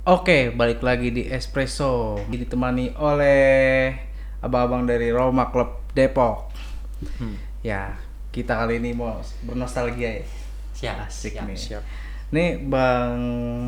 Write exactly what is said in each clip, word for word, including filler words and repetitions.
Oke, balik lagi di Espresso. Ditemani oleh abang-abang dari Roma Club Depok. Hmm. Ya, kita kali ini mau bernostalgia ya. Siap, Asik siap, nih. siap. Nih bang,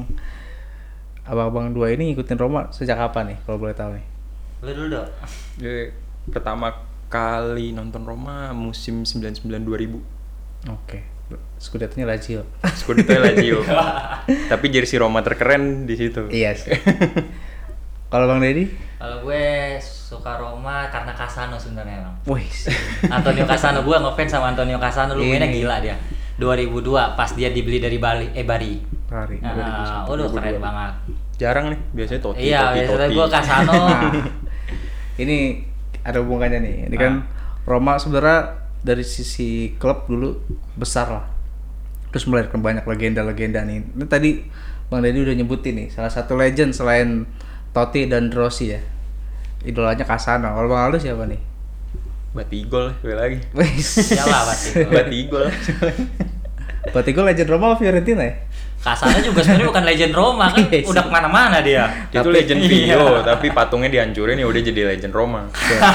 abang-abang dua ini ngikutin Roma sejak kapan nih? Kalau boleh tahu nih. Lu dulu dong. Jadi, pertama kali nonton Roma musim sembilan puluh sembilan dua ribu. Oke. Scudetto-nya Lazio. Scudetto Lazio. Tapi jersey Roma terkeren di situ. Iya sih. Kalau Bang Deddy? Kalau gue suka Roma karena Cassano sebenarnya, Bang. Wih. Antonio Cassano, gue ngefans sama Antonio Cassano, lu mainnya gila dia. dua ribu dua pas dia dibeli dari Bali, eh Bari. Bari. Nah, udah keren banget. Jarang nih, biasanya Totti, iya, Totti, biasanya Totti. gue Cassano. Nah, ini ada hubungannya nih. Ini kan Roma sebenarnya dari sisi klub dulu besar lah. Terus melahirkan banyak legenda-legenda nih. Ini tadi Bang Deddy udah nyebutin nih salah satu legend selain Totti dan Rossi ya. Idolanya Cassano. Kalau Bang Aldo siapa nih? Batigol, gue lagi. Iyalah Batigol. Batigol. Batigol legend Roma atau Fiorentina ya? Cassano juga sebenarnya bukan legend Roma kan, udah kemana-mana dia. Dia tuh legend Vio, tapi patungnya dihancurin ya udah jadi legend Roma.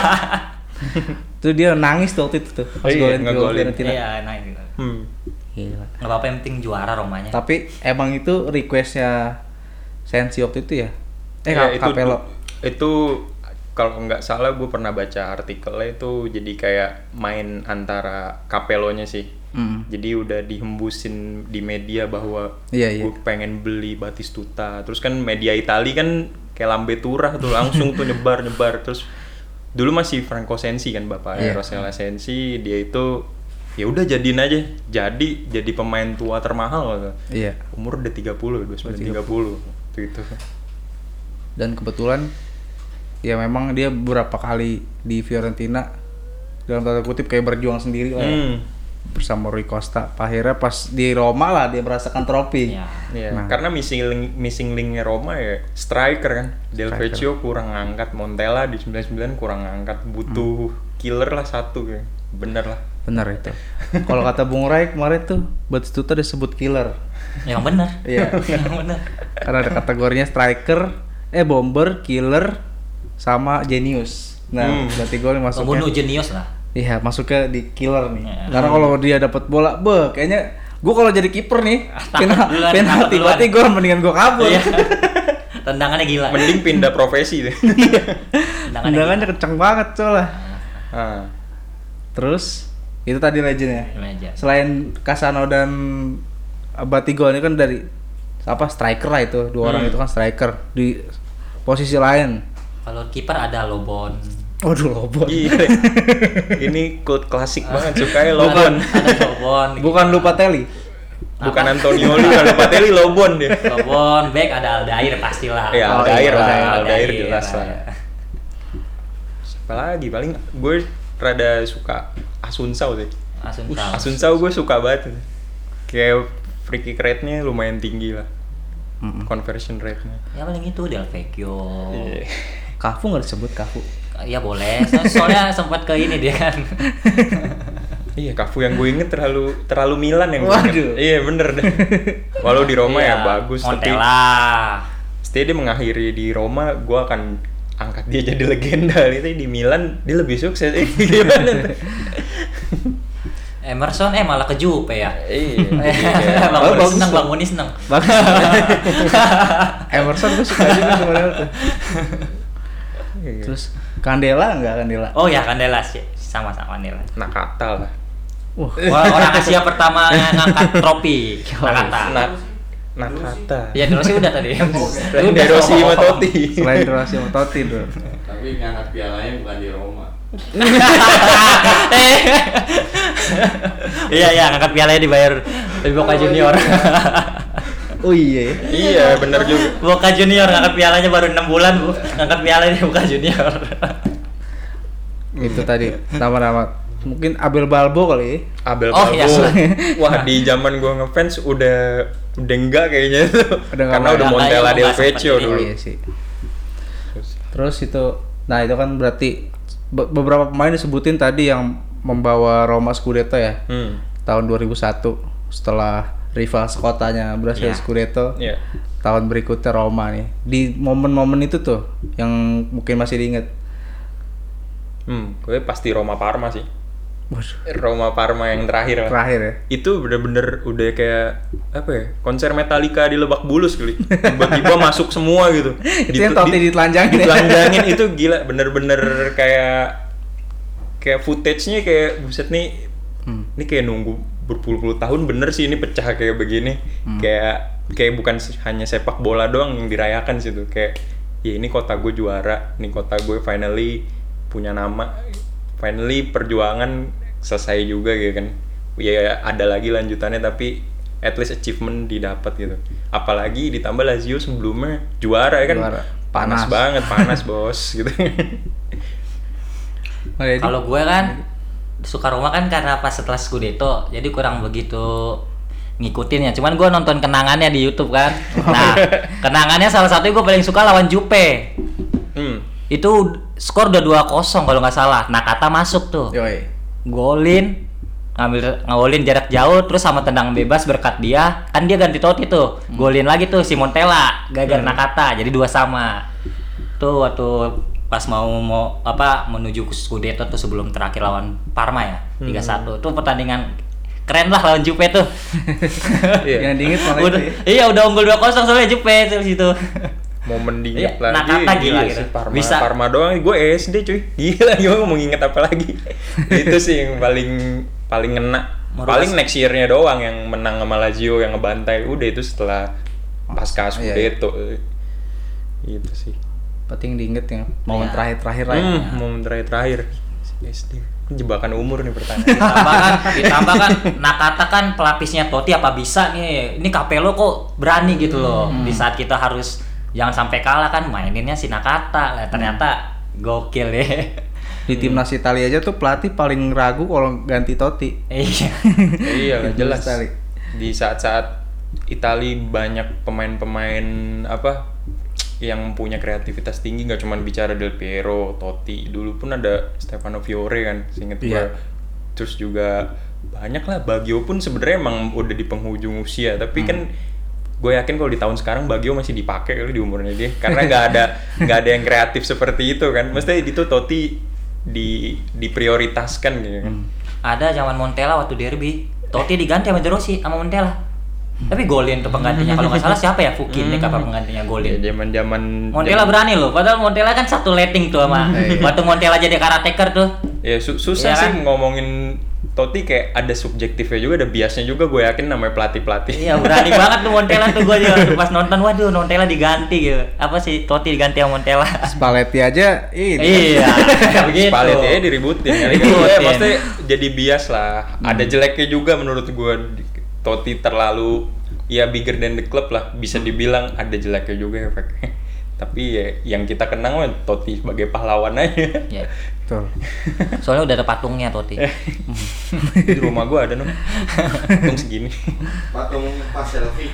Itu dia nangis tuh waktu itu tuh pas Oh iya, golin ngegolin. Fiorentina. Iya, nah gitu. Hmm. Gila. Nggak apa-apa yang penting juara Romanya. Tapi emang itu requestnya Sensi waktu itu ya? Eh Ya, Ka- Capello. Itu kalau nggak salah gue pernah baca artikelnya itu jadi kayak main antara Capello-nya sih. Mm. Jadi udah dihembusin di media bahwa Iya, iya. gue pengen beli Batistuta. Terus kan media Itali kan kayak lambe turah tuh langsung tuh nyebar-nyebar. Terus dulu masih Franco Sensi kan bapaknya, Iya. Rossella Sensi, dia itu ya udah jadiin aja. Jadi jadi pemain tua termahal gitu. Iya. Umur udah tiga puluh, dua puluh sembilan tiga puluh waktu itu. Dan kebetulan ya memang dia beberapa kali di Fiorentina dalam tanda kutip kayak berjuang sendiri lah ya. Hmm. Bersama Rui Costa. Akhirnya pas di Roma lah dia merasakan trofi. Iya. Iya, Nah. karena missing link, missing linknya Roma ya striker kan. Del Striker. Vecchio kurang ngangkat, Montella di sembilan puluh sembilan kurang ngangkat, butuh killer lah satu kayak. Bener lah. Benar itu. Kalau kata Bung Rai kemarin tuh Batistuta disebut killer. Yang benar. Iya. Yang benar. Karena ada kategorinya striker, eh bomber, killer, sama genius. Nah, Hmm. berarti gue masuknya. Pembunuh jenius lah. Iya, masuknya di killer nih. Ya. Karena kalau dia dapat bola, be, kayaknya gue kalau jadi kiper nih, pena, duluan, penalti, takut duluan. berarti gue mendingan gue kabur. Iya. Tendangannya gila. Mending pindah profesi deh. Tendangannya Tendangannya kenceng banget soalnya. Ah. Terus itu tadi legendnya. gila aja. Selain Cassano dan Batigol ini kan dari apa striker lah itu, dua orang Hmm. itu kan striker di posisi lain. Kalau kiper ada Lobon. Waduh, Lobon. Iya. Ini cult klasik banget, sukanya Lobon. Ada Lobon. Bukan Lupatelli. Bukan Antonioli, kalau Lopatelli Lobon dia. Lobon, back ada Aldair pastilah. Iya, Oh, Aldair iya, lah, Aldair. Aldair jelas lah. Siapa lagi? Paling gue rada suka Asunsao sih. Asunsao. Asunsao gue suka banget. Kayak free kick rate-nya lumayan tinggi lah. Mm-mm. Conversion rate-nya. Ya paling itu Del Vecchio. Iya. Kafu nggak disebut Kafu. Ya boleh. So- soalnya sempat ke ini dia kan. Iya, Cafu yang gue inget terlalu terlalu Milan yang gue Waduh. inget. Iya, bener deh. Walau di Roma Iya, ya bagus, tapi Montella. setelah dia mengakhiri di Roma, gue akan angkat dia jadi legenda. Itu di Milan dia lebih sukses. Eh, gimana tuh? Emerson eh malah ke Juve ya. Iya. Bang Oh, Muni bagus seneng, tuh. Bang Muni seneng. Bagus. Emerson gue suka juga sebenarnya tuh. Iya. Terus Candela enggak Candela? Oh ya Candela sih, sama-sama Candela. Nakata lah. Wah, Orang, orang Asia pertama yang ngangkat trofi. Nakata. Nak Nakata. Ya terus sih udah tadi. Selain De Rossi sama Totti. selain Rossi sama Totti tuh. Tapi ngangkat pialanya bukan di Roma. Iya iya ngangkat pialanya dibayar dari Boca Junior. Oh iya. Iya, bener juga. Boca Junior ngangkat pialanya baru enam bulan, Bu. Ngangkat pialanya di Boca Junior. Itu tadi nama-nama mungkin Abel Balbo kali ya. Abel Oh, Balbo. iya. Wah, di zaman gua ngefans udah udah enggak kayaknya tuh. Udah nggak Karena main. udah Nggak, Montella nggak, Del nggak Vecchio sempet dulu. Iya sih. Terus itu, nah itu kan berarti be- beberapa pemain disebutin tadi yang membawa Roma Scudetto ya. Hmm. Tahun dua ribu satu setelah rival sekotanya berhasil Iya. Scudetto. Iya. tahun berikutnya Roma nih. Di momen-momen itu tuh yang mungkin masih diingat. Hmm, gue pasti Roma Parma sih. Waduh, Roma Parma yang terakhir lah. terakhir ya. Itu bener-bener udah kayak apa ya, konser Metallica di Lebak Bulus kali. Tiba-tiba masuk semua gitu. Itu yang Totti ditelanjangin ya? Ditelanjangin itu gila, bener-bener kayak kayak footage-nya kayak buset nih. Hmm. Ini kayak nunggu berpuluh-puluh tahun bener sih ini pecah kayak begini. Hmm. Kayak kayak bukan hanya sepak bola doang yang dirayakan situ. Kayak ya ini kota gue juara, ini kota gue finally punya nama. Finally perjuangan selesai juga gitu kan. Ya ada lagi lanjutannya tapi at least achievement didapat gitu. Apalagi ditambah Lazio sebelumnya juara ya kan. Juara. Panas, Panas. banget, panas bos gitu. Kalau gue kan suka Roma kan karena pas setelah Scudetto, jadi kurang begitu ngikutin ya. Cuman gue nonton kenangannya di YouTube kan. Nah, kenangannya salah satunya gue paling suka lawan Juve. Hmm. Itu skor udah dua kosong kalau nggak salah. Nakata masuk tuh. Yoi. Golin, ngambil ngawolin jarak jauh terus sama tendang bebas berkat dia. Kan dia ganti Totti tuh. Golin lagi tuh si Montella gagal Nakata. Jadi dua sama. Tuh waktu pas mau mau apa menuju ke Scudetto tuh sebelum terakhir lawan Parma ya tiga satu. Tuh pertandingan keren lah lawan Juve tuh. Yang diinget malah Udah, itu ya. iya udah unggul dua kosong soalnya Juve tuh situ. Momen diinget Iya, lagi. Nakata gila Iya gitu. sih, Parma, Bisa. Parma doang. Gue S D cuy. Gila, gue mau nginget apa lagi. Itu sih yang paling paling ngena. Merubah- Paling next year-nya doang yang menang sama Lazio yang ngebantai. Udah itu setelah pasca Scudetto. Itu sih. Penting diinget ya. Momen Iya. terakhir-terakhir lah. ya. Hmm, momen terakhir-terakhir. S D. Jebakan umur nih pertanyaan. Ditambah kan, ditambah kan Nakata kan pelapisnya Totti apa bisa nih. Ini Capello kok berani gitu loh. Di saat kita harus jangan sampai kalah kan maininnya si Nakata. Lah ternyata gokil ya. Di timnas Italia aja tuh pelatih paling ragu kalau ganti Totti. Iya. Iya lah, jelas. Sekali. Di saat-saat Itali banyak pemain-pemain apa yang punya kreativitas tinggi, nggak cuma bicara Del Piero, Totti, dulu pun ada Stefano Fiore kan, seinget gue. Iya. Terus juga banyak lah, Baggio pun sebenarnya emang udah di penghujung usia, tapi kan gue yakin kalau di tahun sekarang Baggio masih dipakai kali di umurnya dia, karena nggak ada nggak ada yang kreatif seperti itu kan. Mesti itu Totti di diprioritaskan gitu kan. Ada zaman Montella waktu derby. Totti diganti sama De Rossi sama Montella. Tapi golin tuh penggantinya. Kalau nggak salah siapa ya? Fukin deh kapan penggantinya Ya golin. zaman-zaman Montella berani loh. Padahal Montella kan satu letting tuh sama. Waktu Montella jadi karateker tuh. Ya su- susah Iya sih kan? ngomongin Totti, kayak ada subjektifnya juga, ada biasnya juga, gue yakin namanya pelatih-pelatih. Iya berani banget tuh Montella tuh, gue juga pas nonton, waduh Montella diganti gitu. Apa sih Totti diganti sama Montella? Spalletti aja ini. Iya, begitu. Spalletti aja diributin ya. Diributin. Ya, maksudnya jadi bias lah. Ada jeleknya juga menurut gue. Totti terlalu ya bigger than the club lah, bisa dibilang ada jeleknya juga efeknya. Tapi ya yang kita kenang mah Totti sebagai pahlawan aja. Iya. Betul. Soalnya udah ada patungnya Totti. Di rumah gue ada, no, patung segini. Patung pas selfie.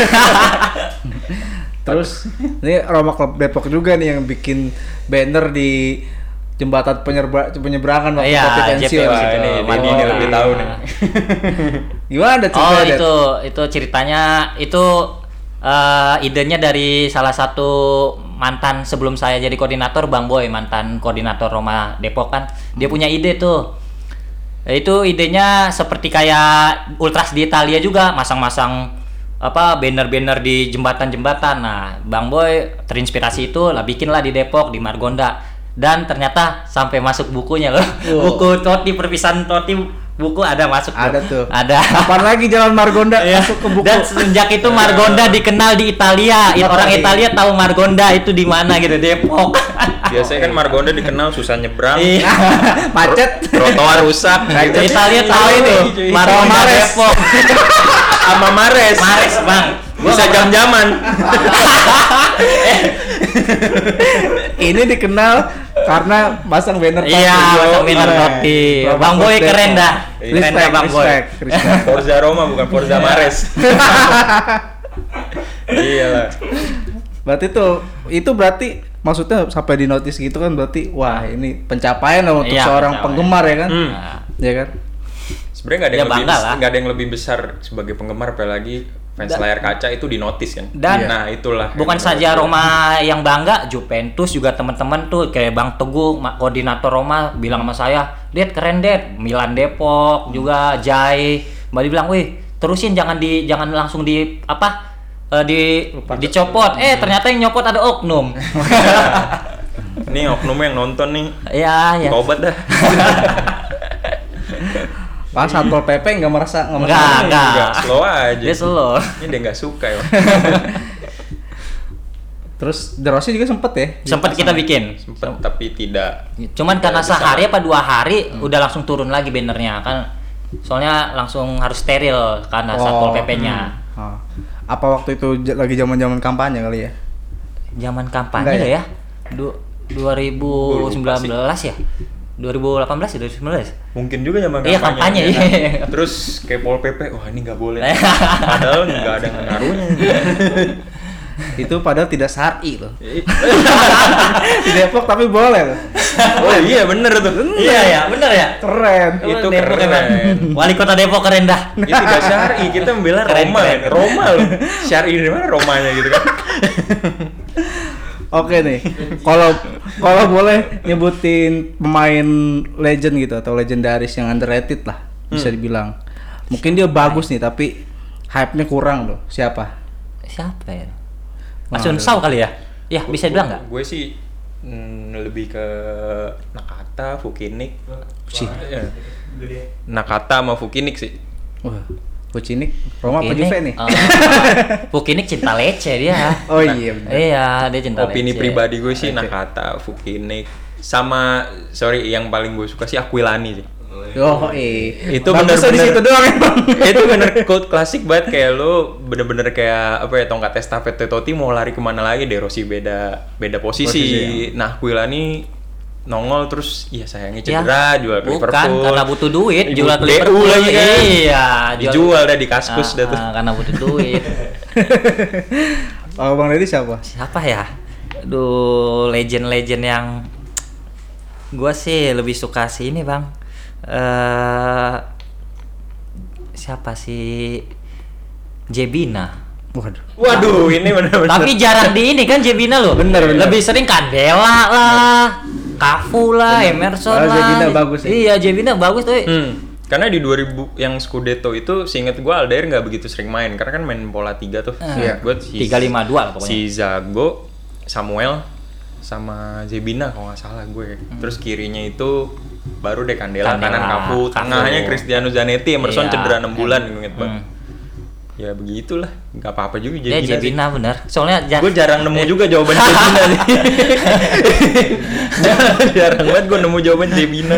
Terus ini Roma Club Depok juga nih yang bikin banner di jembatan penyerba, penyeberangan waktu Iya, Totti J P pensiun. Wah, situ. ini, ini, Marbot. ini lebih tahu nih. Gimana ada Oh ceritanya? Det? itu, itu ceritanya itu eh, idenya dari salah satu mantan sebelum saya jadi koordinator, Bang Boy, mantan koordinator Roma Depok kan. Dia punya ide tuh. Itu idenya seperti kayak Ultras di Italia juga, masang-masang apa banner-banner di jembatan-jembatan. Nah, Bang Boy terinspirasi itu lah bikinlah di Depok di Margonda. Dan ternyata sampai masuk bukunya loh. Wow. Buku Totti, perpisahan Totti, buku ada masuk. Ada tuh. Ada. Kapan lagi Jalan Margonda Iya. masuk ke buku? Dan sejak itu Margonda dikenal di Italia. Oh, Orang iya. Italia tahu Margonda itu di mana gitu, Depok. Biasanya kan Margonda dikenal susah nyebrang, Iya. Macet. trotoar rusak, gitu. Italia tahu itu Margonda Mares. Depok. Sama Mares. Mares, Bang. Bisa jam-jaman. Ini dikenal karena masang banner Totti. Iya, masang banner Keren. Totti. Roma Bang Boy Club keren Depok. dah. Keren dah Respect, Bang Boy. respect, respect. Forza Roma bukan Forza Mares. Iya lah. Berarti tuh itu berarti maksudnya sampai di notice gitu kan, berarti wah ini pencapaian lah untuk Iya, seorang pencapaian. penggemar ya kan? Hmm. Nah, Ya kan? Sebenarnya nggak ada Ya, yang lebih bangga lah. nggak ada yang lebih besar sebagai penggemar, apalagi fans Da- layar kaca itu dinotis kan. Dan- nah itulah. Bukan yang saja menurut Roma yang bangga, Juventus juga teman-teman tuh kayak Bang Teguh, ma- koordinator Roma bilang sama saya, "Det, keren Det." Milan Depok juga Jai, Mbak bilang, "Wih, terusin jangan di jangan langsung di apa? eh, di dicopot." Eh, ternyata yang nyopot ada oknum. gue. Nih oknum yang nonton nih. Ya, ya. Tobat dah. Pas Satpol P P nggak merasa nggak merasa. Enggak, enggak. Enggak, slow aja. Dia slow. Ini dia nggak suka ya. Terus The Rossi juga sempet ya? Sempat kita bikin. Sempet tapi tidak. Cuman karena Tidak bisa. sehari apa dua hari udah langsung turun lagi bannernya kan. Soalnya langsung harus steril karena Satpol P P-nya. Oh. Apa waktu itu j- lagi zaman-zaman kampanye kali ya? Zaman kampanye Enggak ya? ya? Du- dua ribu sembilan belas ya? dua ribu delapan belas ya? dua ribu sembilan belas? Mungkin juga zaman Iya, kampanye, ya. iya. Terus kayak Pol P P, wah ini nggak boleh. Padahal nggak ada ngaruhnya. Itu padahal tidak syar'i loh. Di Depok tapi boleh loh. Oh iya bener tuh. Iya ya, bener ya. Keren. Itu Depok keren. emang. Wali kota Depok keren dah. Itu gak syar'i, kita membela Keren, Roma. keren. kan. Roma loh. Syar'i dari mana Romanya gitu kan. Oke nih. Kalau kalau boleh nyebutin pemain legend gitu atau legendaris yang underrated lah bisa Hmm. dibilang. Mungkin dia bagus nih tapi hype-nya kurang loh. Siapa? Siapa ya? Wah, Asun Sau kali ya? Ya, bisa dibilang nggak? Gue sih mm, lebih ke Nakata, Fukinik. Sih. Iya. Nakata sama Fukinik sih. Wah, Pucinik, Roma apa Pukinik, Juve nih? eh, Pukinik cinta lece dia. Oh iya benar. Iya, dia cinta Opini lece. pribadi gue sih Oke. Nakata, Fukinik, sama sorry yang paling gue suka sih Aquilani sih. Oh iya. Itu Bagusnya di bener-bener- situ doang emang. Itu bener code klasik banget, kayak lu bener-bener kayak apa ya, tongkat estafet Totti mau lari kemana lagi, De Rossi beda beda posisi. Posisi, Nah Aquilani nongol terus, iya sayangnya Ya, cedera, jual ke bukan, Liverpool. karena butuh duit, Ibu jual ke D U Liverpool. lagi kan. Iya, Dijual dah di kaskus Ah, dah tuh. ah, karena butuh duit. Oh Bang Deddy siapa? Siapa ya? Aduh, legend-legend yang gua sih lebih suka sih ini, Bang. Eh siapa sih? Jebina. Waduh. Waduh, ini bener-bener. Tapi jarang di ini kan Jebina loh. Bener, bener. Lebih sering Candela lah, Cafu lah, Emerson Oh, lah. Jebina bagus ya? Iya, Jebina bagus tuh. Hmm. Karena di dua ribu yang Scudetto itu seingat gue Aldair nggak begitu sering main karena kan main pola tiga tuh. Iya. Gue si, tiga lima dua lah pokoknya. si Zago, Samuel sama Jebina kalau nggak salah gue. Terus kirinya itu baru deh Candela, Candela, kanan Cafu, Cafu. tengahnya Cristiano Zanetti, Emerson Iya. cedera enam bulan inget banget. Hmm. Ya begitulah, nggak apa-apa juga Ya Jebina. Jebina bener. Soalnya jar- Gue jarang nemu juga jawaban Jebina sih. jarang banget gue nemu jawaban Jebina.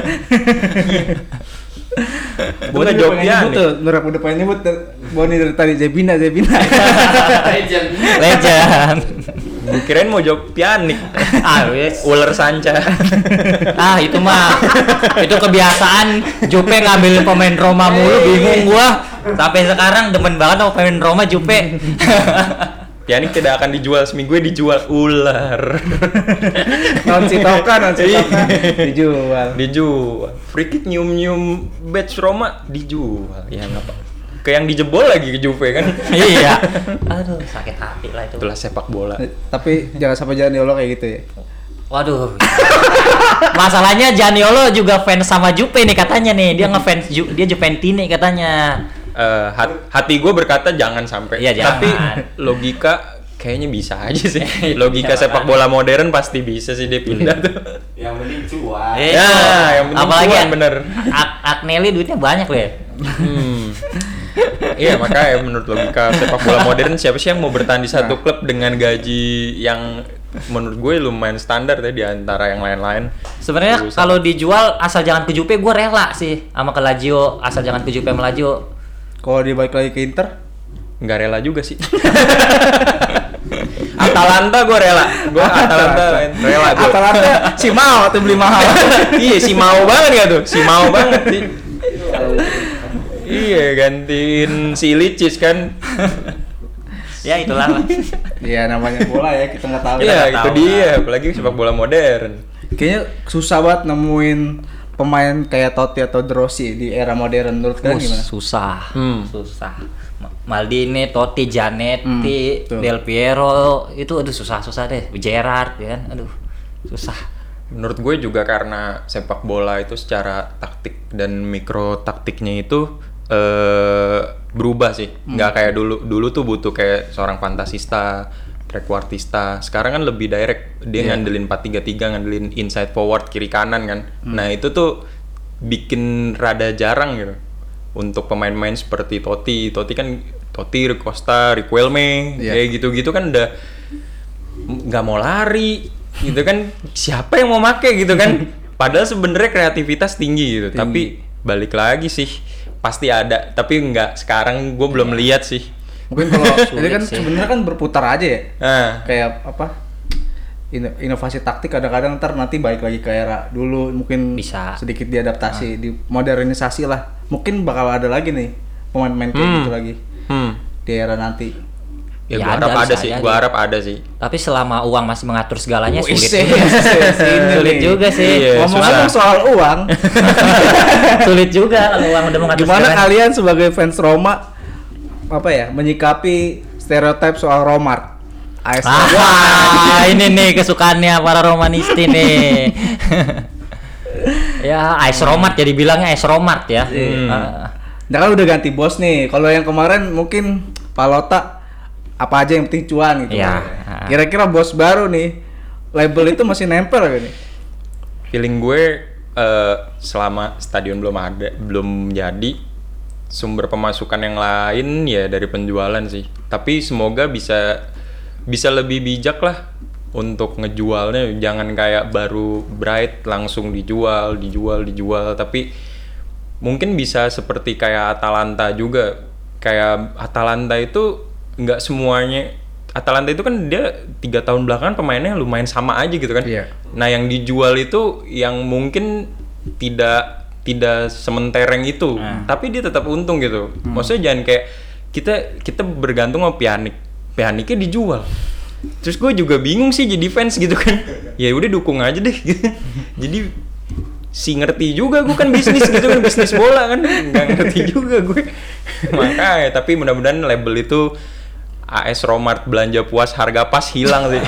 Gue nggak jawab ya nyebut tuh, Nur udah pengen nyebut Boni dari tadi Jebina, Jebina. Legend. legend. Gue kirain mau jawab Pjanic. Ah, wes. Ular sanca. Ah, itu mah itu kebiasaan Jupe ngambil pemain Roma mulu, bingung gua. Sampai sekarang demen banget sama pemain Roma Jupe. Pjanic tidak akan dijual, seminggu dijual ular. Non Sitoka, non Sitoka dijual. Dijual. Free kick nyium-nyium badge Roma dijual. Ya nggak apa. Kayak yang dijebol lagi ke Juve kan. Iya. Aduh, sakit hati lah itu. Itulah sepak bola. Tapi jangan sampai Janiolo kayak gitu ya. Waduh. Masalahnya Janiolo juga fans sama Jupe nih katanya nih. Dia ngefans Ju- dia Juventini katanya. Eh, hat- hati gue berkata jangan sampai. Iya, Tapi jangan. logika kayaknya bisa aja sih. Logika Bisa, sepak bola modern pasti bisa sih dia pindah tuh. Yang penting cuan. Eh, Ya, itu. yang penting apalagi cuan, bener. Ak- Agnelli duitnya banyak loh ya. Hmm. Iya makanya menurut logika sepak bola modern siapa sih yang mau bertahan di satu klub dengan gaji yang menurut gue lumayan standar ya di antara yang lain-lain. Sebenarnya Urusan. kalau dijual asal jangan ke Jupe gue rela sih sama ke Lazio, asal jangan ke Jupe sama Lazio. Kalau dia balik lagi ke Inter, Nggak rela juga sih. Atalanta gue rela. Gue Atalanta rela gue. Atalanta si mau tuh beli mahal. Iya si mau banget ya tuh, si mau banget sih. Iya gantiin si Iličić kan. Ya itulah lah. Iya namanya bola ya, kita nggak tahu. Iya nggak itu tahu, dia, apalagi sepak bola modern. Kayaknya susah banget nemuin pemain kayak Totti atau De Rossi di era modern menurut kalian Uh, gimana? susah, Hmm. susah. Ma- Maldini, Totti, Zanetti, Hmm, betul. Del Piero itu aduh susah-susah deh. Gerrard ya kan, aduh susah. Menurut gue juga karena sepak bola itu secara taktik dan mikro taktiknya itu eh, berubah sih. Nggak kayak dulu. Dulu tuh butuh kayak seorang fantasista, trequartista. Sekarang kan lebih direct. Dia Iya. ngandelin empat tiga tiga, ngandelin inside forward, kiri kanan kan. Nah itu tuh bikin rada jarang gitu. Untuk pemain-pemain seperti Totti. Totti kan, Totti, Costa, Riquelme, Iya. kayak gitu-gitu kan udah nggak mau lari gitu kan, siapa yang mau make gitu kan, padahal sebenarnya kreativitas tinggi gitu. Tinggi. Tapi balik lagi sih pasti ada, tapi nggak sekarang gue belum lihat sih. Mungkin kalau ini kan sih. sebenarnya kan berputar aja ya. Nah, Kayak apa? ino- Inovasi taktik kadang-kadang ntar nanti balik lagi ke era dulu, mungkin Bisa. sedikit diadaptasi, di modernisasi lah. Mungkin bakal ada lagi nih pemain-pemain kayak Hmm. gitu lagi hmm. di era nanti. Ya, Ya gue ada, harap ada bisa sih, aja. gue harap ada sih. Tapi selama uang masih mengatur segalanya Wih, sulit. sih, juga. sini Sulit nih. juga sih. Iya, Ngomong-ngomong susah. soal uang, Sulit juga kalau uang udah mengatur gimana segalanya. kalian sebagai fans Roma apa ya menyikapi stereotip soal Romart? A S Ah, wah, ini nih kesukaannya para Romanisti nih. Ya, A S Romart jadi bilangnya A S Romart ya. Hmm. Ah, Nah kan udah ganti bos nih. Kalau yang kemarin mungkin Palota apa aja yang penting cuan gitu. Iya. Kira-kira bos baru nih label itu masih nempel gak nih? Feeling gue eh, selama stadion belum ada, belum jadi, sumber pemasukan yang lain ya dari penjualan sih. Tapi semoga bisa bisa lebih bijak lah untuk ngejualnya. Jangan kayak baru Bright langsung dijual, dijual, dijual. Tapi mungkin bisa seperti kayak Atalanta juga. Kayak Atalanta itu nggak semuanya. Atalanta itu kan dia tiga tahun belakangan pemainnya lumayan sama aja gitu kan. Iya. Nah yang dijual itu yang mungkin tidak tidak sementereng itu, tapi dia tetap untung gitu. Maksudnya jangan kayak kita kita bergantung sama Pjanic, Pjanicnya dijual. Terus gue juga bingung sih jadi fans gitu kan. Ya udah dukung aja deh. Jadi si ngerti juga gue kan bisnis gitu kan, bisnis bola kan, nggak ngerti juga gue. Makanya tapi mudah-mudahan label itu A S Romart belanja puas harga pas hilang sih.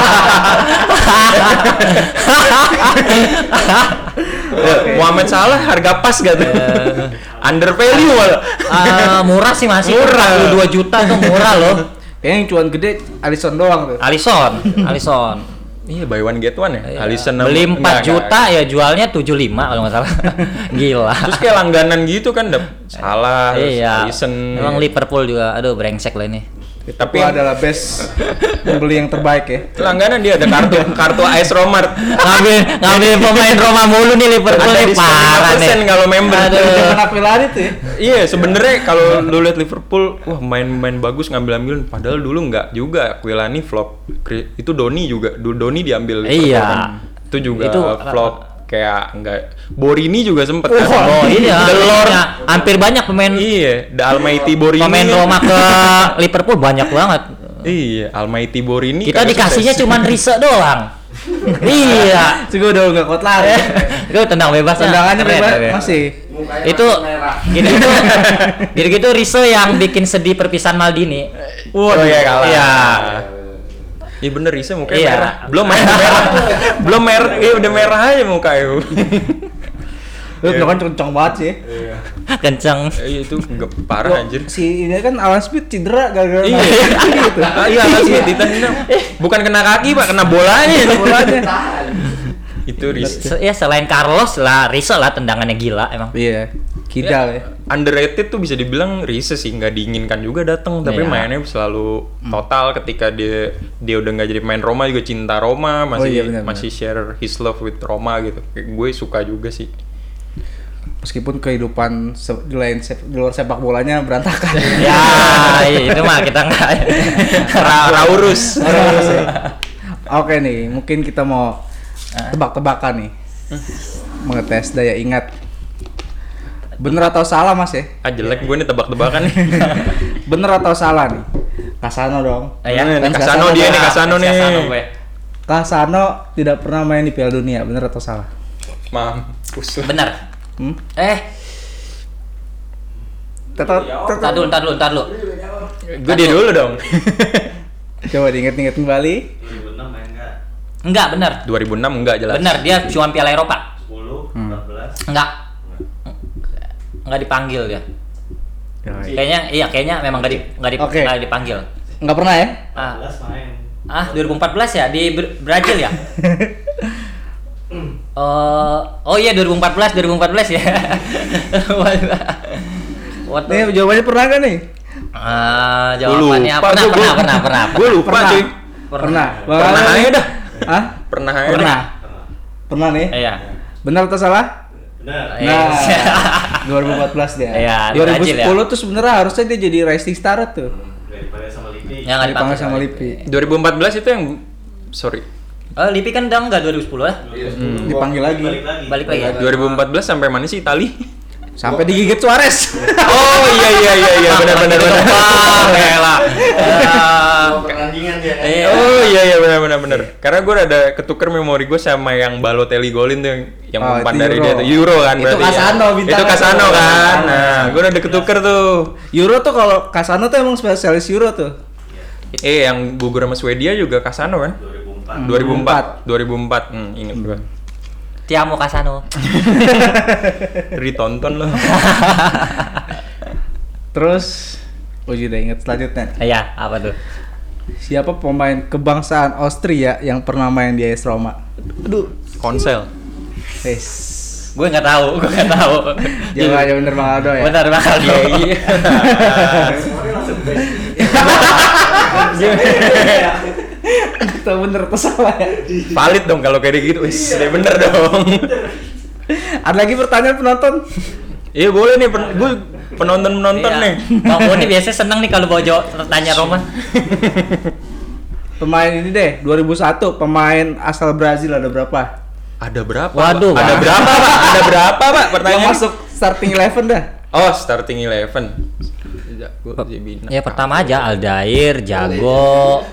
Muhammad Salah harga pas gak tuh? Under value malah. ah, murah sih masih Murah. empat puluh dua juta tuh murah loh. Kayaknya yang cuan gede Alisson doang tuh. Alisson, Alisson. Iya, buy one get one ya. Iya. Alisson Beli enggak, empat enggak, juta enggak. ya jualnya tujuh puluh lima kalau nggak salah. Gila. Terus kayak langganan gitu kan, dap Salah, Iya. Alisson. Emang Liverpool juga aduh brengsek lah ini. Tapi Itu adalah best pembeli yang terbaik ya. langganan dia ada kartu kartu A S Romart. ngambil ngambil pemain Roma mulu nih Liverpool Ada nih diskon parah lima persen nih. kalau member. Aduh. Jangan apilan itu ya. Iya, sebenarnya kalau lu lihat Liverpool, wah main-main bagus ngambil-ambil, padahal dulu nggak juga. Aquilani flop. Kri- Itu Doni juga, Du- Doni diambil Liverpool Iya. kan. Itu juga Itu, flop kayak enggak. Borini juga sempet kan. Oh iya, The Lord. iya. Hampir banyak pemain Iya, The Almighty Borini. pemain kan. Roma ke Liverpool banyak banget. Iya, Almighty Borini. Kita kagak dikasihnya sukses. cuma Riso doang. Iya. Juga udah nggak kuat lari. Itu tendang bebasnya. Tendangannya keren, bebas keren. masih. Mukanya Itu masih merah. gitu-gitu gitu-gitu Riso yang bikin sedih perpisahan Maldini. Oh iya kalah. Iya. Iya bener, Risa mukanya Iya. merah. Belum main udah merah. Belum merah, iya udah merah aja mukanya. Lu kan kenceng banget sih. Kenceng. Iya itu nggak parah Wah, anjir. Si ini kan Alan Smith cedera gara-gara Iya. main gitu. Ah, Iya langsung ditendang. Bukan kena kaki pak, kena bolanya. Bolanya. Itu Risa. Se- Ya selain Carlos lah, Riso lah tendangannya gila emang. Iya. Kidal ya. Underrated tuh bisa dibilang Risa sih, nggak diinginkan juga datang, tapi Iya. mainnya selalu total. Ketika dia dia udah nggak jadi pemain Roma juga cinta Roma, masih Oh iya, benar, masih share his love with Roma gitu. Kayak gue suka juga sih. Meskipun kehidupan se- di lain se- di luar sepak bolanya berantakan. Ya, iya, itu mah kita nggak. Ra Raurus. Oke nih, mungkin kita mau tebak-tebakan nih. Mengetes daya ingat. Bener atau salah Mas ya? Ah jelek gue nih tebak-tebakan nih. Bener atau salah nih? Kasano dong. Ya, Nih, Fans Kasano dia nih, Kasano nih. Kasano gue. Kasano tidak pernah main di Piala Dunia, bener atau salah? Maaf. Usul. Benar. Hmm? Eh, Tetot, tar tetot. dulu, tar dulu, tar dulu. Gue dia dulu dong. Coba diinget-inget kembali. dua ribu enam main enggak? Enggak, benar. dua ribu enam enggak jelas. Benar, dia cuma Piala Eropa. sepuluh, Hmm. empat belas. Enggak. Enggak dipanggil dia. Ya, Kayaknya iya, kayaknya memang enggak di, enggak di, Oke. enggak dipanggil. nggak pernah ya? Ah, empat belas main. ah dua ribu empat belas ya di Bra- Brazil ya? Oh, oh iya dua ribu empat belas, dua ribu empat belas ya. Waktu Nih jawabannya pernah kan nih? Ah, Gua jawabannya lupa, pernah, gua- pernah, gua- pernah, pernah, Gue lupa Pernah. cuy. Pernah. Bang Pernah Alan? aja dah. Hah? Pernah aja. Pernah. dah. Pernah nih? Iya. Benar atau salah? Benar. Nah, Iya. dua ribu empat belas dia. Iya, di dua ribu Brazil ya. sepuluh tuh sebenarnya harusnya dia jadi rising star tuh. Daripada sama Lipi. Yang nggak Dipanggil dipanggil sama Lipi. dua ribu empat belas itu yang sorry. Oh, Lipi kan udah enggak dua ribu sepuluh ya? Hmm, dipanggil lagi. Balik lagi. Balik lagi ya? dua ribu empat belas sampai mana sih Itali? Sampai digigit Suarez. Oh iya iya iya iya benar benar benar. Rela. Oh, pertandingan dia kan. Iya. Oh iya iya benar benar benar. Karena gue ada ketuker memori gue sama yang Balotelli golin tuh yang yang Oh, umpan itu dari Euro. dia tuh Euro kan Itu berarti. Casano ya. bintangnya Itu Casano tuh. kan. Nah, gue udah ada ketuker tuh. Euro tuh kalau Casano tuh emang spesialis Euro tuh. Eh yang gugur sama Swedia juga Casano kan? dua ribu empat. dua ribu empat dua ribu empat Hmm, inget gue. Tiamo Casano. Ditonton loh. Terus Uji udah inget selanjutnya. Iya, apa tuh? Siapa pemain kebangsaan Austria yang pernah main di A S Roma? Aduh. Konsel. Wes. Gue nggak tahu, gue nggak tahu. Jawabannya bener Bang Aldo ya. Benar Bang Aldo. Iya iya. Semuanya langsung beda. Kita bener atau salah ya? Valid dong kalau kayak gitu. Wis, udah bener dong. Ada lagi pertanyaan penonton? Iya boleh nih, pen gue penonton-penonton Iya. nih. Bang Boni biasanya seneng nih kalau bawa jawab tanya Roman. Pemain ini deh, dua ribu satu pemain asal Brazil ada berapa? Ada berapa? Waduh, Pak? Ada Bang. berapa, Pak? Ada berapa, Pak? Yang Pertanyaan masuk starting eleven dah. Oh, starting eleven. Zago, Zebina. Ya pertama aja Aldair, Jago.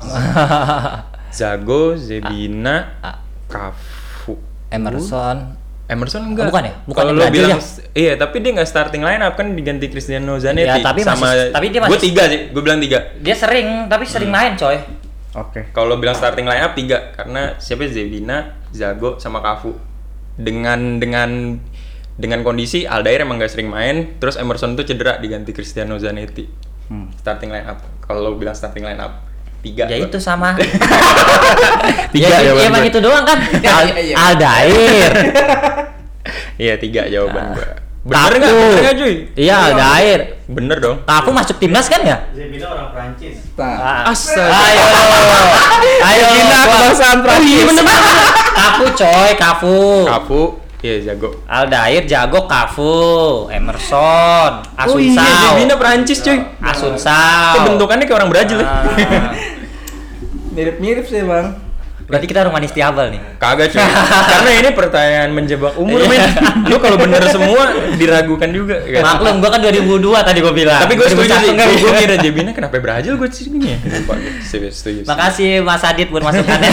Zago, Zebina, Cafu. Emerson. Emerson enggak? Oh, bukan ya? Bukan Kalau yang lo Brazil bilang ya? iya, tapi dia enggak starting line up kan diganti Cristiano Zanetti Ya, tapi sama masih- tapi dia Gue masih- tiga sih, gue bilang tiga. Dia sering, tapi sering main coy. Oke. Kalau bilang starting line up tiga karena siapa Zebina, Zago sama Cafu. Dengan dengan dengan kondisi Aldair emang gak sering main, terus Emerson tuh cedera diganti Cristiano Zanetti. Hmm. Starting line up. Kalau bilang starting line up tiga. Ya gua. itu sama. Tiga ya, jawaban ya, emang gua. itu doang kan. Al- iya. Aldair. Iya tiga jawaban gua. Bener Cafu. nggak? Bener nggak cuy? Iya Aldair. Bener dong. Kafu masuk timnas kan ya? Zebina orang Prancis. Nah, Astaga. Ayo. Ayo. Zebina gua- kebangsaan Prancis. Oh, iya bener bener. Kafu coy, Kafu. Kafu, iya jago. Aldair, Jago, Kafu, Emerson, Oh iya, Asunsao. Zebina Perancis cuy. Asunsao. Kok bentukannya kayak orang Brazil ya? Ah. mirip-mirip sih bang. Berarti kita orang manis tiabal nih. Kagak cuy. Karena ini pertanyaan menjebak umur men. Lu kalau bener semua diragukan juga. Kan? Maklum, gua kan dua ribu dua tadi gua bilang. Tapi gue setuju sih. enggak. Gue kira Zebina kenapa Brazil gue sini ya? Lupa. Serius, setuju. Makasih Mas Adit buat masukannya.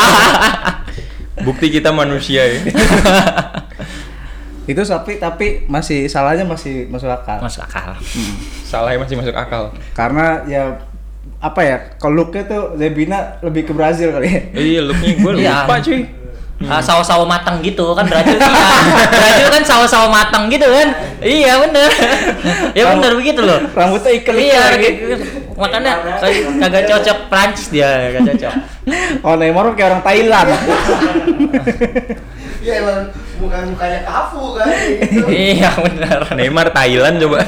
Bukti kita manusia ya. Itu tapi tapi masih salahnya masih masuk akal. Masuk akal. Salahnya masih masuk akal. Karena ya apa ya? Kalau looknya tuh Zebina lebih ke Brazil kali ya. Iya, looknya gue Iya. lupa cuy. Ah, sawo-sawo matang gitu kan Brazil. Iya. Brazil kan sawo-sawo matang gitu kan. Iya bener. Ya bener begitu loh. Rambutnya ikan Iya, lagi. gitu. Makanya kag- kagak cocok Prancis dia, kagak cocok. Oh Neymar kayak orang Thailand. Iya emang bukan mukanya Kafu kan gitu. Iya bener. Neymar Thailand coba.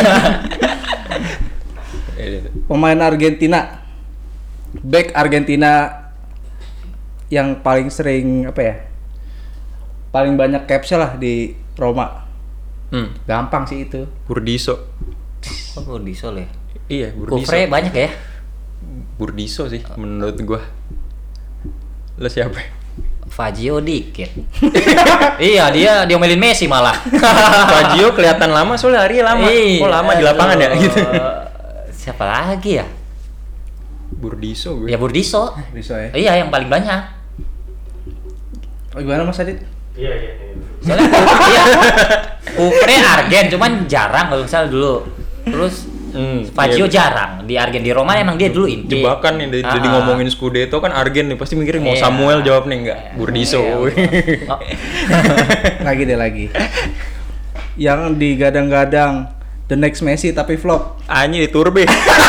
Pemain Argentina, back Argentina yang paling sering apa ya? Paling banyak capsnya lah di Roma. Hmm, Gampang sih itu. Burdiso. Oh, di Sol ya. Iya, Burdiso. Kufre banyak ya? Burdiso sih menurut gua. Lo siapa? Fazio dikit. Iya, dia diomelin Messi malah. Fazio kelihatan lama soalnya hari lama. Iya. Oh, lama di lapangan ya Aduh. gitu. Siapa lagi ya? Burdiso gue. Ya Burdiso. Bisa ya. Iya, yang paling banyak. Oh, gimana Mas Adit? Iya iya. iya. Soalnya iya, Kupre Argen, cuman jarang kalau misalnya dulu. Terus Hmm, Fazio iya. jarang di Argen, di Roma emang dia dulu inti. Jebakan nih, jadi Ah. ngomongin Scudetto kan Argen nih, pasti mikirin mau Iya. Samuel jawab nih enggak, Burdiso. Iya. Oh, Lagi deh lagi. Yang digadang-gadang the next Messi tapi flop. Anjir di Turbe.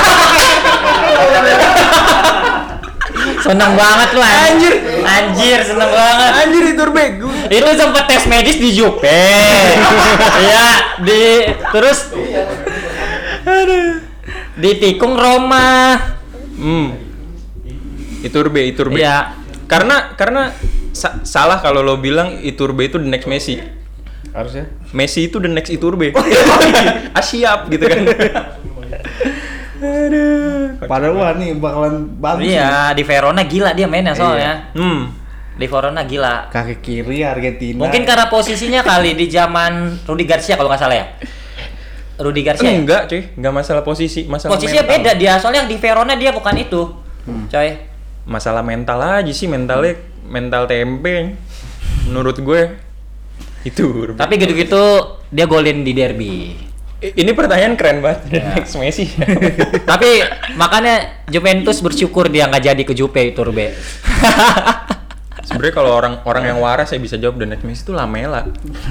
seneng banget lu anjir. Anjir, seneng banget. Anjir di Turbe. Gua- Itu sempat tes medis di Jupe. Iya, di terus di tikung Roma. Hmm. Iturbe, Iturbe. Iya. Karena karena sa- salah kalau lo bilang Iturbe itu the next Messi. Harusnya. Messi itu the next Iturbe. Ah siap gitu kan. Aduh. Padahal wah nih bakalan bagus. nih. Iya, di Verona gila dia mainnya soalnya. Hmm. Di Verona gila. Kaki kiri Argentina. Mungkin karena posisinya kali di zaman Rudi Garcia kalau nggak salah ya. Rudi Garcia. ya? Enggak, cuy. Enggak masalah posisi, masalah Posisinya mental. beda dia, soalnya di Verona dia bukan itu. Coy. Masalah mental aja sih, mentalnya mental tempe. Menurut gue itu. Tapi gitu-gitu dia golin di derby. I- ini pertanyaan keren banget. Ya. Next Messi. Tapi makanya Juventus bersyukur dia nggak jadi ke Juve itu Rube. Sebenarnya kalau orang orang yang waras saya bisa jawab the next Messi itu Lamela.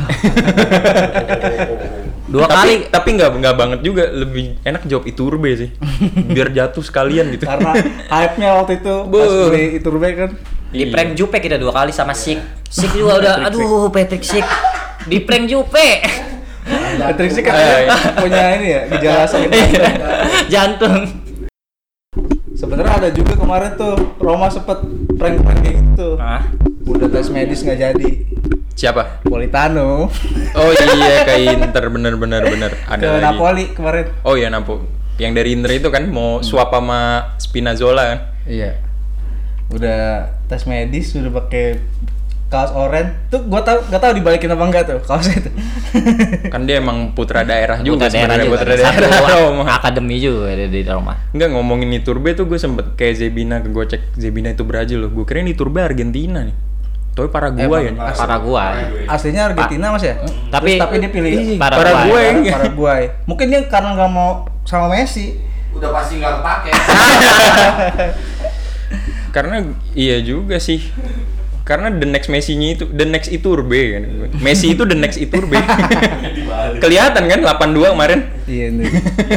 Dua tapi, kali tapi nggak nggak banget juga, lebih enak jawab Iturbe sih. Biar jatuh sekalian gitu. Karena hype-nya waktu itu pas Buh. beli Iturbe kan. di Iya. prank Juve kita dua kali sama Sik. Sik juga udah aduh Patrick Sik. Di prank Juve. Patrick sih kan Eh, punya ini ya gejala sakit jantung. Jantung. Sebenarnya ada juga kemarin tuh Roma sempet prank-prank kayak gitu. Hah? Udah tes medis nggak jadi. Siapa? Politano Oh iya ke Inter, bener bener bener. Ada ke lagi. Napoli kemarin. Oh iya Napo. Yang dari Inter itu kan mau swap sama Spinazzola kan? Iya. Udah tes medis, udah pakai kaos oranye. Tuh gua tahu nggak tahu dibalikin apa enggak tuh kaosnya itu. Kan dia emang putra daerah juga Putra daerah sebenarnya, juga. putra Satu daerah Roma. akademi juga di, di Roma. Enggak, ngomongin Iturbe tuh gue sempet kayak Zebina, gue cek Zebina itu Brazil loh. Gue kira Iturbe Argentina nih. Tapi Paraguay ya. Emang, Paraguay. Aslinya Argentina Mas ya? Tapi- Terus, tapi dia pilih Ih, Paraguay. Paraguay. Paraguay. Mungkin dia karena nggak mau sama Messi. Udah pasti nggak kepake. Karena iya juga sih. Karena the next Messi-nya itu the next Iturbe kan. Messi itu the next Iturbe. Kelihatan kan delapan dua kemarin. Iya nih.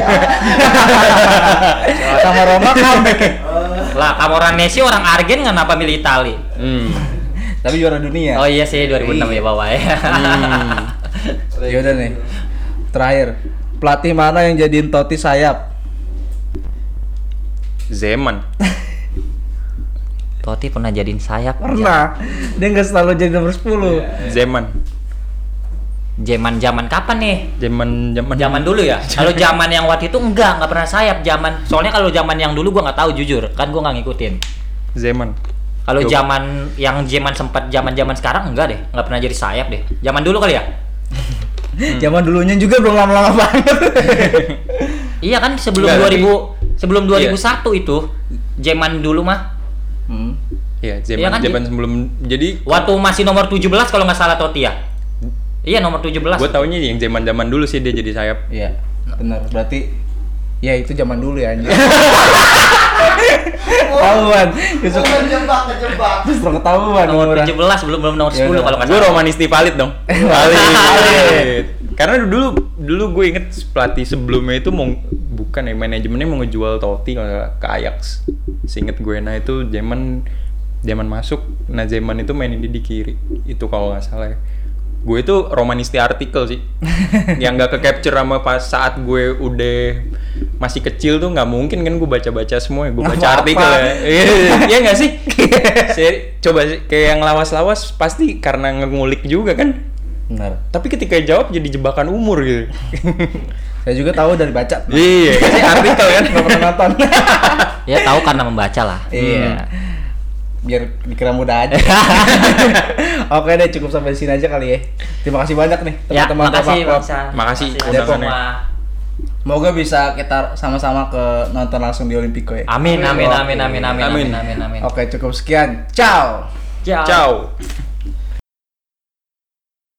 Sama Roma comeback ya. Lah, Camoranesi orang Argen kenapa milih Itali? Hmm. Tapi juara dunia. Oh iya sih dua ribu enam ya bawa ya. Hmm. Ya udah nih. Terakhir, pelatih mana yang jadiin Totti sayap? Zeman. Totti pernah jadiin sayap. Pernah. Dia nggak selalu jadi nomor sepuluh. Zeman. Zaman zaman kapan nih? Zaman zaman Zaman dulu ya. Kalau zaman yang waktu itu enggak, enggak pernah sayap zaman. Soalnya kalau zaman yang dulu gua nggak tahu jujur, kan gua nggak ngikutin. Zeman. Kalau Coba. zaman yang zaman sempat zaman-zaman sekarang enggak deh, enggak pernah jadi sayap deh. Zaman dulu kali ya? Zaman dulunya juga belum lama-lama banget. Iya kan sebelum Enggak, dua tapi- ribu sebelum Iya. dua ribu satu itu. Zaman dulu mah Hmm. Iya, Iya zaman kan, zaman sebelum jadi waktu masih nomor tujuh belas kalau nggak salah Totti ya. Iya nomor tujuh belas. gue taunya yang zaman-zaman dulu sih dia jadi sayap. Iya, benar. Berarti ya itu zaman dulu ya anjir. Ketahuan. Justru Kejebak, kejebak. justru ketahuan Nomor umurnya. tujuh belas belum belum nomor Ya sepuluh udah. kalau nggak Gue salah. romanisti valid dong. Valid. Karena dulu dulu gue inget pelatih sebelumnya itu mau bukan ya manajemennya mau ngejual Totti kalau nggak ke Ajax. Seinget gue nah itu zaman zaman masuk, nah zaman itu mainin dia di kiri. Itu kalau nggak salah ya. Gue itu romanisti artikel sih. Yang nggak ke capture sama pas saat gue udah masih kecil tuh nggak mungkin kan gue baca-baca semua ya. Gue baca Apa-apa. artikel ya. Iya iya nggak sih? Seri- Coba sih, kayak yang lawas-lawas pasti karena ngulik juga kan. Benar. Tapi ketika jawab jadi jebakan umur gitu. Saya juga tahu dari baca. Iya, kasih artikel kan. Nggak pernah nonton. Ya tahu karena membaca lah. Iya. Biar dikira mudah aja. Oke deh, cukup sampai sini aja kali ya. Terima kasih banyak nih Ya, teman-teman makasih Romak Club. Bang San. Makasih Depok. undangannya. Semoga bisa kita sama-sama ke nonton langsung di Olimpico ya. Amin amin amin amin amin Amin. amin amin amin. Oke, cukup sekian. Ciao. Ciao. Ciao.